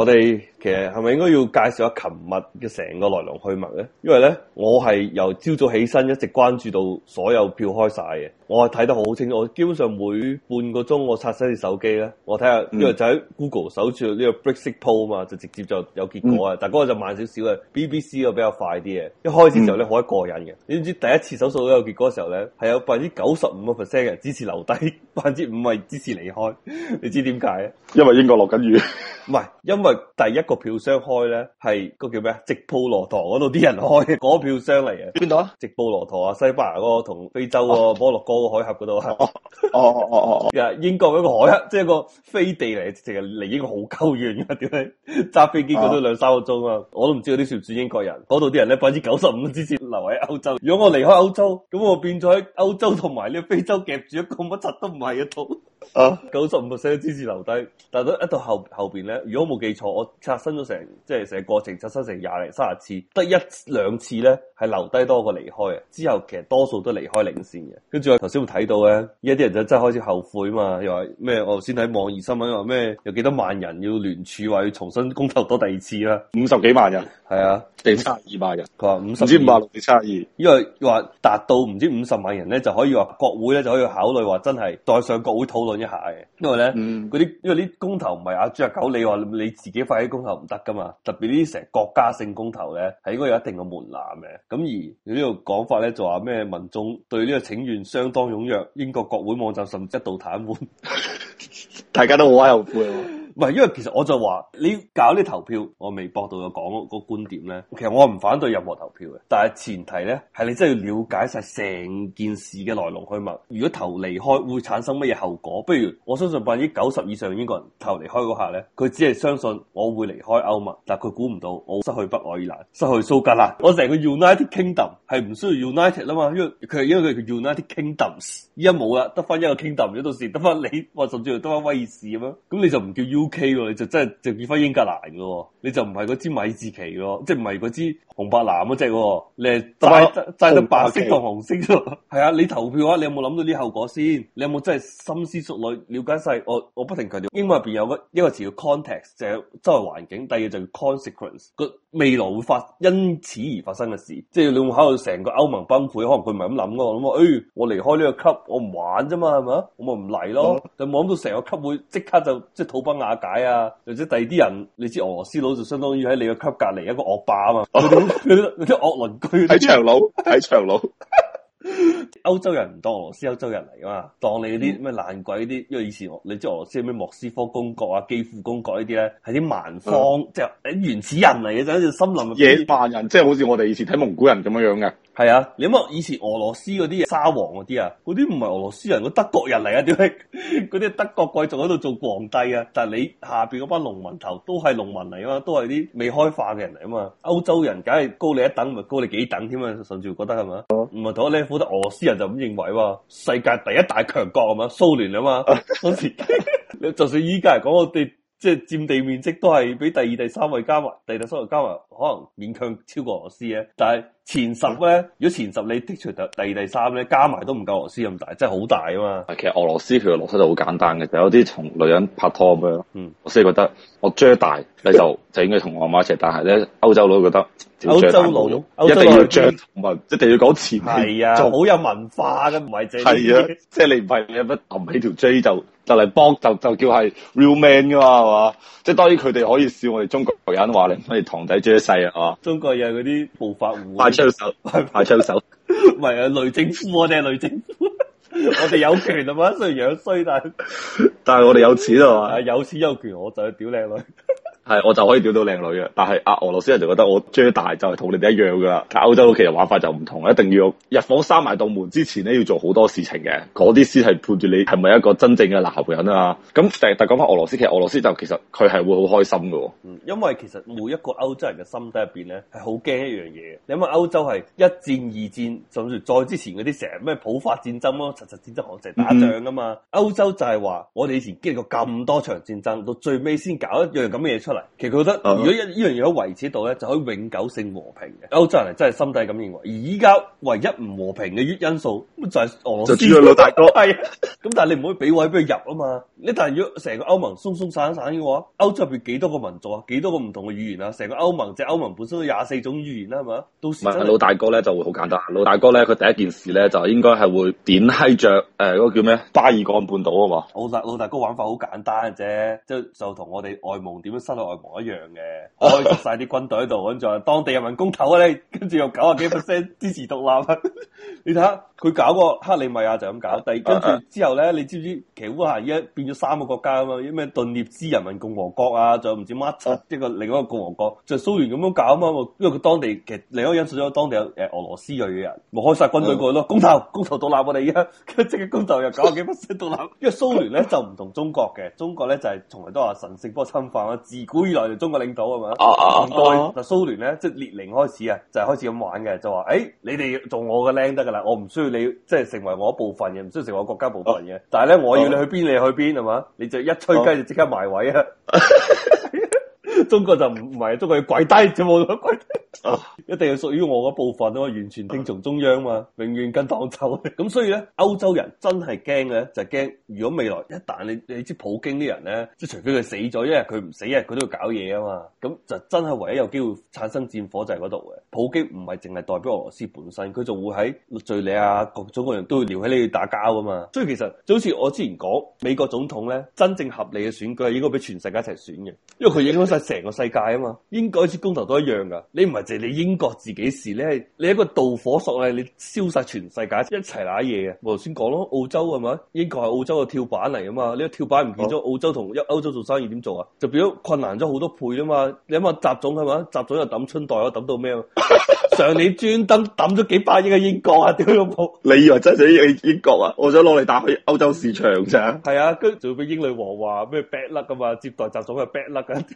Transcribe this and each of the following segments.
哋其實係咪應該要介紹下琴日嘅成個來龍去脈咧？因為咧，我係由朝早起身一直關注到所有票開晒嘅，我係睇得好清楚。我基本上每半個鐘我刷新隻手機咧，我睇下，因為就喺 Google 搜住呢個 Brexit Poll 嘛，就直接就有結果啊。但嗰個就慢少少嘅 BBC 個比較快啲嘅。一開始時候咧好過癮嘅，你知第一次搜數都有結果嘅時候咧，係有95%嘅支持留低，5%係支持離開。你知點解啊？ 因為英國落緊雨。 唔係，因為第一個票箱開咧係個叫咩啊？直布羅陀嗰度啲人開嘅嗰個票箱嚟嘅。 邊度啊？ 直布羅陀啊，西班牙嗰個同非洲個摩洛哥個海峽嗰度啊。 哦。 英國嗰個海峽，即係個飛地嚟，直情係離英國好鳩遠噶。點解揸飛機嗰都2-3個鐘啊？我都唔知嗰啲算唔算英國人。嗰度啲人咧95%支持留喺歐洲。如果我離開歐洲，咁我變咗喺歐洲同埋呢個非洲夾住一個乜柒都唔係嘅度。95% 支持留低，但係一到後邊咧，如果冇記錯，我刷新咗成個過程刷新成20-30次，得1-2次咧係留低多過離開嘅，之後其實多數都離開領先嘅。跟住我頭先會睇到咧，而家啲人就真係開始後悔啊嘛，又話咩？我頭先睇網易新聞話咩？有幾多萬人要聯署話要重新公投多第二次啦 ，50幾萬人， 係啊， 定72萬人。 佢話50，唔知56定72， 因為話達到唔知50萬人咧，就可以話國會咧就可以考慮話真係再上國會討論一下嘅，因為咧因為啲公投唔係阿豬阿狗，你話你自己發起公投唔得噶嘛，特別呢啲成國家性公投咧係應該有一定嘅門檻嘅。咁而呢個講法咧就話咩民眾對呢個請願相當踴躍，英國國會網站甚至一度癱瘓， 大家都好閪後悔。 唔係，因為其實我就話你搞呢投票，我微博度有講個觀點咧。其實我唔反對任何投票嘅，但係前提咧係你真係要了解晒成件事嘅來龍去脈。如果投離開會產生乜嘢後果？不如我相信90%以上英國人投離開嗰刻咧，佢只係相信我會離開歐盟，但係佢估唔到我失去北愛爾蘭、失去蘇格蘭，我成個 United Kingdom 係唔需要 United 啦嘛，因為佢叫 United Kingdoms， 依家冇啦，得翻一個 Kingdom，到時得翻你，或甚至乎得翻威爾士咁樣，咁你就唔叫 UK 喎，你就真係就叫翻英格蘭嘅喎，你就唔係嗰支米字旗咯，即係唔係嗰支紅白藍嗰隻喎，你係齋得白色同紅色啫。係啊，你投票嘅話，你有冇諗到啲後果先？你有冇真係深思熟慮了解晒？我不停強調，英文入邊有一個詞叫 context，就係周圍環境；第二就叫 consequence，個未來會因此而發生嘅事。即係你會考慮成個歐盟崩潰，可能佢唔係咁諗噶。我諗話，我離開呢個級，我唔玩啫嘛，係咪？我咪唔嚟咯。就冇諗到成個級會即刻就即係土崩瓦解啊！或者第二啲人，你知俄羅斯佬就相當於喺你個級隔離一個惡霸啊嘛，嗰啲惡鄰居喺長路。 歐洲人唔當俄羅斯歐洲人嚟噶嘛，當你嗰啲咩爛鬼啲，因為以前你知俄羅斯咩莫斯科公國啊、基輔公國呢啲咧，係啲蠻荒，即係原始人嚟嘅，就好似森林野蠻人，即係好似我哋以前睇蒙古人咁樣樣嘅。係啊，你諗下以前俄羅斯嗰啲沙皇嗰啲啊，嗰啲唔係俄羅斯人，嗰德國人嚟啊，點解嗰啲德國貴族喺度做皇帝啊？但係你下邊嗰班農民頭都係農民嚟啊嘛，都係啲未開化嘅人嚟啊嘛。歐洲人梗係高你一等，咪高你幾等添啊？甚至會覺得係咪？唔係同一 level，得俄羅斯人就咁認為喎。世界第一大強國啊嘛，蘇聯啊嘛，當時就算依家嚟講，我哋即係佔地面積都係比第二、第三位加埋，第二、第三位加埋可能勉強超過俄羅斯嘅，但係前10咧，如果前10你剔除第二、第三咧，加埋都唔夠俄羅斯咁大，真係好大啊嘛。 其實俄羅斯佢嘅邏輯就好簡單嘅，就有啲同女人拍拖咁樣。我先覺得我追大你就應該同我阿媽一齊，但係咧歐洲佬覺得歐洲佬一定要追同埋一定要講前係啊，好有文化嘅，唔係淨係啊，即係你唔係你乜揞起條 J 就嚟幫就叫係 real man 噶嘛，係嘛？即係當然佢哋可以笑我哋中國人話你唔可以堂弟追細啊，係嘛？中國人嗰啲暴發戶快槍手，快槍手， 唔係啊，雷政夫我哋係雷政夫，我哋有權啊嘛，雖然樣衰，但係我哋有錢啊嘛，有錢有權我就去屌靚女。 係，我就可以屌到靚女嘅，但係俄羅斯人就覺得我追大就係同你哋一樣噶啦。但歐洲其實玩法就唔同，一定要入房閂埋道門之前咧，要做好多事情嘅，嗰啲先係判住你係咪一個真正嘅男人啊。咁但係講翻俄羅斯，其實俄羅斯就其實佢係會好開心噶。 因為其實每一個歐洲人嘅心底入邊咧係好驚一樣嘢。你諗下歐洲係一戰、二戰，甚至再之前嗰啲成日咩普法戰爭咯，實戰爭行成打仗啊嘛。歐洲就係話我哋以前經歷過咁多場戰爭，到最尾先搞一樣咁嘅嘢出嚟。 嚟。其實佢覺得如果呢樣嘢可以維持到咧，就可以永久性和平嘅。歐洲人係真係心底咁認為。而依家唯一唔和平嘅因素就係俄羅斯， 就主要老大哥係。咁但係你唔可以俾位俾佢入啊嘛。你但係如果成個歐盟鬆鬆散散嘅話，歐洲入邊幾多個民族啊，幾多個唔同嘅語言啊，成個歐盟即係歐盟本身都24種語言啦，係嘛？到時老大哥咧就會好簡單。老大哥咧佢第一件事咧就應該係會點閪着嗰個叫咩巴爾幹半島啊嘛。 老大哥玩法好簡單嘅啫，就同我哋外蒙點樣收到外蒙一樣嘅，開晒啲軍隊喺度，跟住話當地人民公投啊你，跟住又90幾%支持獨立。你睇下佢搞個克里米亞就咁搞，跟住之後咧，你知唔知其實烏克蘭依家變咗3個國家啊嘛？咩頓涅茲人民共和國啊，仲有唔知乜柒一個另一個共和國，就蘇聯咁樣搞啊嘛。因為佢當地其實另一個因素咗當地有俄羅斯裔嘅人，咪開晒軍隊過去咯，公投獨立我哋而家即刻公投又90幾%獨立。因為蘇聯咧就唔同中國嘅，中國咧就係從來都話神聖不可侵犯啊，自古以來就中國領土係嘛。但蘇聯咧即係列寧開始啊，就係開始咁玩嘅，就話你哋做我嘅僆得噶啦，我唔需要你即係成為我一部分嘅，唔需要成為我國家部分嘅。但係咧我要你去邊你去邊係嘛，你就一吹雞就即刻埋位啊！中國就唔係，中國要跪低，就冇得跪低。一定係屬於我嗰部分啊嘛，完全聽從中央嘛，永遠跟黨走。咁所以咧，歐洲人真係驚嘅，就係驚如果未來一旦你知普京啲人咧，即係除非佢死咗，一日佢唔死，一日佢都要搞嘢啊嘛。咁就真係唯一有機會產生戰火就係嗰度嘅。普京唔係淨係代表俄羅斯本身，佢仲會喺敘利亞各種各樣都會撩起你去打交啊嘛。所以其實就好似我之前講，美國總統咧，真正合理嘅選舉係應該俾全世界一齊選嘅，因為佢影響晒成個世界啊嘛。應該似公投都一樣噶，你唔係淨係你英國自己事咧，你一個導火索咧，你燒晒全世界一齊揦嘢嘅。我頭先講咯，澳洲係咪？英國係澳洲嘅跳板嚟啊嘛，呢個跳板唔見咗，澳洲同歐洲做生意點做啊？就變咗困難咗好多倍啊嘛。你諗下習總係嘛？習總又抌春袋，又抌到咩啊？上年專登抌咗幾百億嘅英國啊！屌老母！ 你以為真係英國啊？我想攞嚟打去歐洲市場咋？ 係啊，跟住仲要俾英女王話咩 bad luck 噶嘛？接待習總係 bad luck 噶。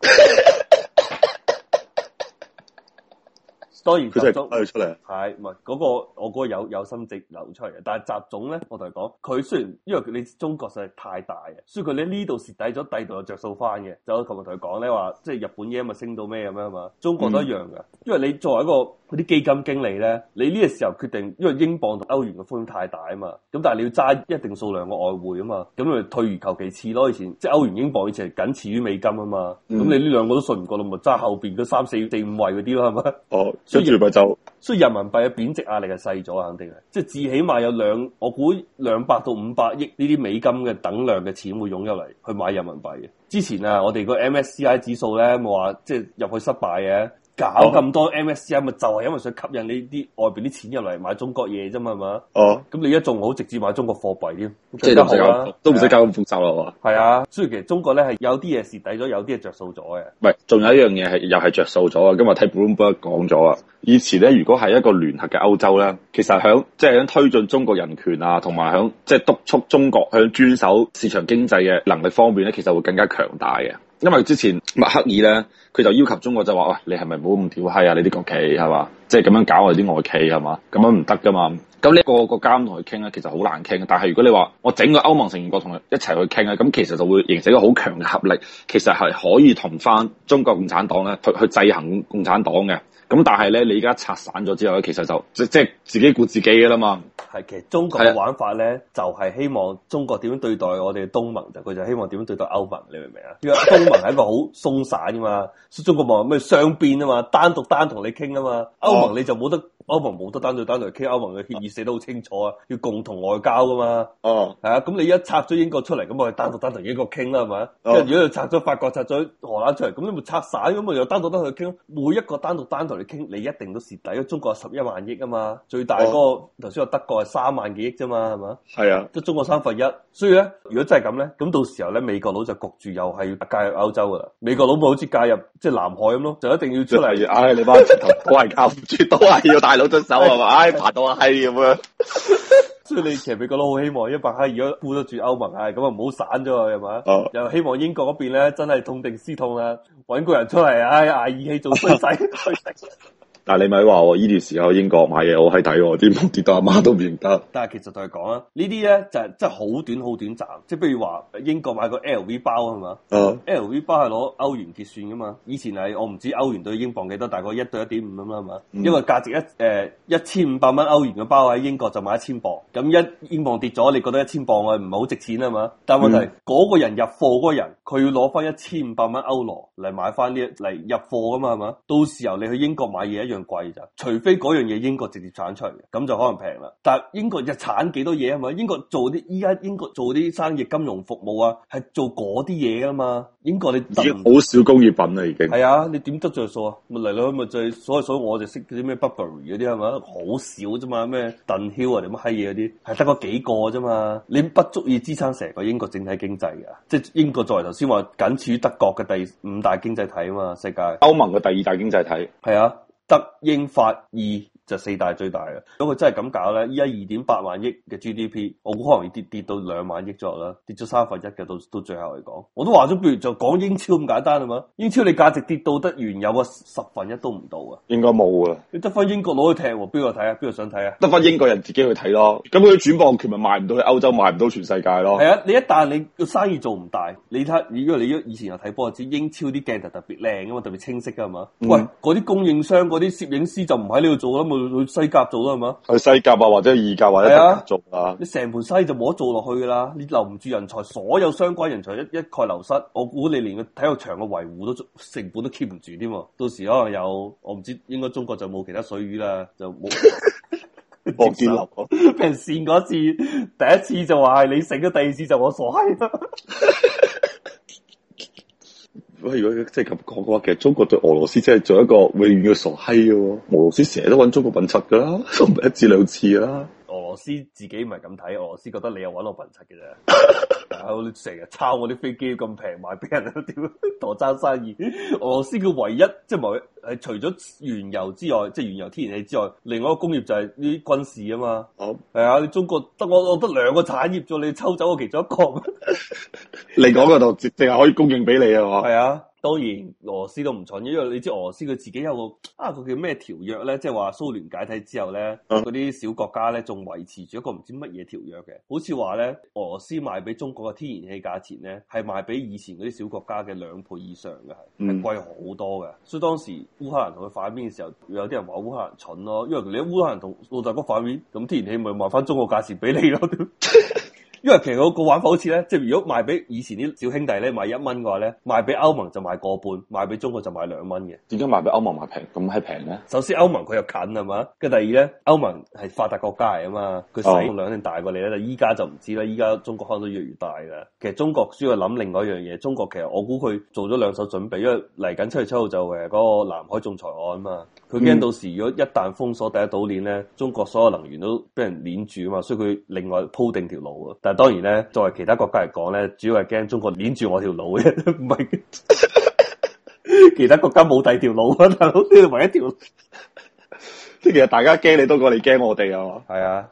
當然習總出嚟係唔係嗰個我嗰個有心直流出嚟嘅，但係習總咧，我同你講，佢雖然因為你中國實在太大嘅，所以佢呢度蝕底咗，第度又着數翻嘅。就我琴日同佢講咧話，即係日本嘢咪升到咩咁樣嘛，中國都一樣嘅。因為你作為一個嗰啲基金經理咧，你呢個時候決定，因為英鎊同歐元嘅風險太大啊嘛，咁但係你要揸一定數量嘅外匯啊嘛，咁咪退而求其次咯。以前即係歐元英鎊以前係僅次於美金啊嘛，咁你呢兩個都信唔過，咪揸後邊嗰3、4、5位嗰啲咯，係咪？ 哦。所以人民幣嘅貶值壓力係細咗，肯定係，即係至起碼有我估200到500億呢啲美金嘅等量嘅錢會湧入嚟去買人民幣嘅。之前啊，我哋個 MSCI 指數咧冇話即係入去失敗嘅。搞咁多 MSCI 咪就係因為想吸引你啲外邊啲錢入嚟買中國嘢啫嘛，係嘛？哦，咁你一仲好直接買中國貨幣添， 即係都唔使搞咁複雜啦，係嘛？ 係啊，所以其實中國咧係有啲嘢蝕底咗，有啲係着數咗嘅。 唔係，仲有一樣嘢係又係着數咗啊！今日睇 Bloomberg 講咗啊，以前咧如果係一個聯合嘅歐洲咧，其實響推進中國人權啊，同埋響即係督促中國向遵守市場經濟嘅能力方面咧，其實會更加強大嘅。因為之前默克爾咧，佢就要求中國就話：喂，你係咪唔好咁屌閪啊？你啲國企係嘛？即係咁樣搞我哋啲外企係嘛？咁樣唔得噶嘛。咁呢個國家同佢傾咧，其實好難傾。但係如果你話我整個歐盟成員國同佢一齊去傾咧，咁其實就會形成一個好強嘅合力，其實係可以同翻中國共產黨咧去制衡共產黨嘅。咁但係咧，你而家拆散咗之後咧，其實就即係自己顧自己嘅啦嘛。 係，其實中國嘅玩法咧，就係希望中國點樣對待我哋嘅東盟，就佢就希望點樣對待歐盟，你明唔明啊？因為東盟係一個好鬆散噶嘛，中國話咩雙邊啊嘛，單同你傾啊嘛，歐盟你就冇得。歐盟冇得單對單嚟傾，歐盟嘅協議寫得好清楚啊，要共同外交噶嘛。哦，係啊，咁你一拆咗英國出嚟，咁我哋單獨單同英國傾啦，係咪？跟住如果你拆咗法國、拆咗荷蘭出嚟，咁你咪拆散，咁咪又單獨單同佢傾。每一個單獨單同你傾，你一定都蝕底。因為中國係11萬億啊嘛，最大嗰個頭先話德國係3萬幾億啫嘛，係嘛？係啊，即係中國1/3。所以咧，如果真係咁咧，咁到時候咧，美國佬就焗住又係要介入歐洲噶啦。美國佬咪好似介入即係南海咁咯，就一定要出嚟。 唉，你班頭都係靠唔住，都係要大佬出手係嘛？唉，爬到閪咁樣。 所以你其實美國佬好希望一白閪如果顧得住歐盟，係咁啊，唔好散咗佢係嘛？又希望英國嗰邊咧真係痛定思痛啦，搵個人出嚟，唉，捱義氣做衰仔。 但係你咪話我呢段時候英國買嘢我係睇喎，啲跌到阿媽都唔認得。 但係其實就係講啦，呢啲咧就係真係好短好短暫，即係譬如話英國買個 LV 包係嘛，LV 包係攞歐元結算噶嘛，以前係我唔知歐元對英鎊幾多，大概1對1.5咁啦係嘛，因為價值1500蚊歐元嘅包喺英國就買1000鎊，咁一英鎊跌咗，你覺得1000鎊啊唔係好值錢啊嘛？但係問題嗰個人入貨嗰個人，佢要攞翻1500蚊歐羅嚟買翻呢嚟入貨噶嘛係嘛？到時候你去英國買嘢一樣貴咋，除非嗰樣嘢英國直接產出嚟，咁就可能平啦。但係英國日產幾多嘢啊嘛？英國做啲依家英國做啲生意金融服務啊，係做嗰啲嘢噶嘛？英國你已經好少工業品啦，已經係啊，你點得罪數啊？咪嚟嚟去咪就係所以我就識嗰啲咩 Burberry 嗰啲係嘛，好少啫嘛，咩鄧曉啊定乜閪嘢嗰啲，係得嗰幾個啫嘛，你不足以支撐成個英國整體經濟㗎。即係英國作為頭先話僅次於德國嘅第5大經濟體啊嘛，世界歐盟嘅第2大經濟體係啊，德英法意。就4大最大嘅，如果佢真係咁搞咧，依家2.8萬億嘅 GDP，我估可能要跌到2萬億左右啦，跌咗1/3嘅到最後嚟講，我都話咗，不如就講英超咁簡單啊嘛，英超你價值跌到得原有嘅1/10都唔到啊， 應該冇啊， 你得翻英國攞去踢，邊個睇啊？邊個想睇啊？ 得翻英國人自己去睇咯，咁佢轉播權咪賣唔到去歐洲，賣唔到全世界咯。 係啊，你一旦你個生意做唔大，你睇，如果你以前有睇波，知英超啲鏡頭特別靚噶嘛，特別清晰噶嘛，喂，嗰啲供應商嗰啲攝影師就唔喺呢度做啦，咪去西甲做啦係嘛？ 去西甲啊，或者意甲或者德甲做啊， 你成盤生意就冇得做落去噶啦，你留唔住人才，所有相關人才一概流失，我估你連個體育場嘅維護都成本都 keep 唔住添，到時可能有我唔知，應該中國就冇其他水魚啦，就冇。 博建立俾人扇嗰次，第一次就話係你醒咗，第二次就我傻閪啦。 喂，如果即係咁講嘅話，其實中國對俄羅斯真係做一個永遠嘅傻閪嘅喎。俄羅斯成日都揾中國笨柒噶啦，都唔係1至2次啦。 俄羅斯自己唔係咁睇，俄羅斯覺得你又揾我笨柒嘅啫。你成日抄我啲飛機咁平賣俾人，屌同我爭生意。俄羅斯嘅唯一即係冇係除咗原油之外，即係原油天然氣之外，另外一個工業就係呢啲軍事啊嘛。係啊，你中國得我得2個產業咗，你抽走我其中一個。 你講嗰度淨係可以供應俾你啊嘛？ 係啊。當然俄羅斯都唔蠢，因為你知俄羅斯佢自己有個佢叫咩條約咧，即係話蘇聯解體之後咧，嗰啲小國家咧仲維持住一個唔知乜嘢條約嘅，好似話咧俄羅斯賣俾中國嘅天然氣價錢咧係賣比以前嗰啲小國家嘅2倍以上嘅，係貴好多嘅。所以當時烏克蘭同佢反面嘅時候，有啲人話烏克蘭蠢咯，因為你烏克蘭同老大哥反面，咁天然氣咪賣翻中國價錢俾你咯。因為其實個玩法好似咧，即係如果賣俾以前啲小兄弟咧賣1蚊嘅話咧，賣俾歐盟就賣個半，賣俾中國就賣2蚊嘅。 點解賣俾歐盟賣平咁係平咧？ 首先歐盟佢又近係嘛，跟住第二咧，歐盟係發達國家嚟啊嘛，佢使用量一定大過你咧。但依家就唔知啦，依家中國可能都越嚟越大噶。其實中國需要諗另外一樣嘢，中國其實我估佢做咗2手準備，因為嚟緊7月7號就嗰個南海仲裁案啊嘛，佢驚到時如果一旦封鎖第一島鏈咧，中國所有能源都俾人鏈住啊嘛，所以佢另外鋪定條路啊。但係當然咧，作為其他國家嚟講咧，主要係驚中國鏈住我條路嘅，唔係其他國家冇第二條路啊，大佬呢度唯一條路。 即係其實大家驚你多過你驚我哋啊嘛。 係啊。